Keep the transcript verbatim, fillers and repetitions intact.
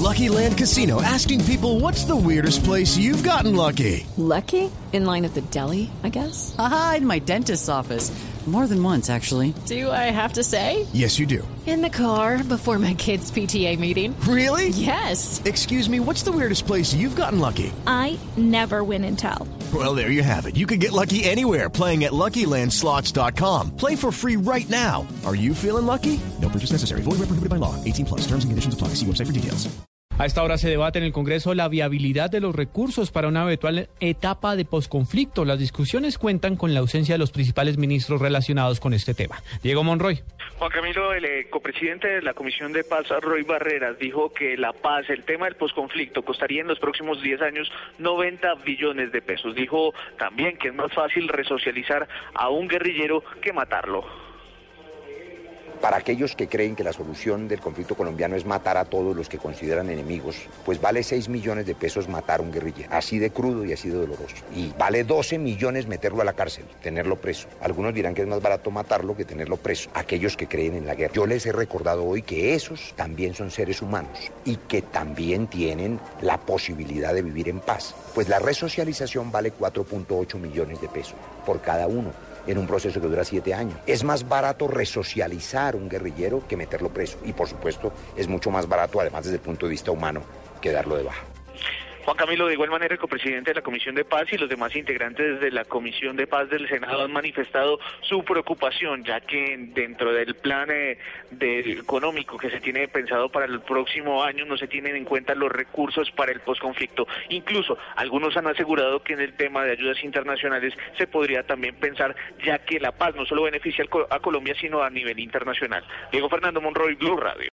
Lucky Land Casino, asking people, what's the weirdest place you've gotten lucky? Lucky? In line at the deli, I guess? Aha, in my dentist's office. More than once, actually. Do I have to say? Yes, you do. In the car before my kids' P T A meeting. Really? Yes. Excuse me, what's the weirdest place you've gotten lucky? I never win and tell. Well, there you have it. You can get lucky anywhere, playing at Lucky Land Slots dot com. Play for free right now. Are you feeling lucky? No purchase necessary. Void where prohibited by law. eighteen plus. Terms and conditions apply. See website for details. A esta hora se debate en el Congreso la viabilidad de los recursos para una eventual etapa de posconflicto. Las discusiones cuentan con la ausencia de los principales ministros relacionados con este tema. Diego Monroy. Juan Camilo, el eh, copresidente de la Comisión de Paz, Roy Barreras, dijo que la paz, el tema del posconflicto, costaría en los próximos diez años noventa billones de pesos. Dijo también que es más fácil resocializar a un guerrillero que matarlo. Para aquellos que creen que la solución del conflicto colombiano es matar a todos los que consideran enemigos, pues vale seis millones de pesos matar a un guerrillero, así de crudo y así de doloroso. Y vale doce millones meterlo a la cárcel, tenerlo preso. Algunos dirán que es más barato matarlo que tenerlo preso, aquellos que creen en la guerra. Yo les he recordado hoy que esos también son seres humanos y que también tienen la posibilidad de vivir en paz. Pues la resocialización vale cuatro punto ocho millones de pesos por cada uno, en un proceso que dura siete años. Es más barato resocializar un guerrillero que meterlo preso. Y por supuesto, es mucho más barato, además desde el punto de vista humano, que darlo de baja. Juan Camilo, de igual manera, el copresidente de la Comisión de Paz y los demás integrantes de la Comisión de Paz del Senado han manifestado su preocupación, ya que dentro del plan eh, de, económico que se tiene pensado para el próximo año no se tienen en cuenta los recursos para el posconflicto. Incluso algunos han asegurado que en el tema de ayudas internacionales se podría también pensar, ya que la paz no solo beneficia a Colombia, sino a nivel internacional. Diego Fernando Monroy, Blue Radio.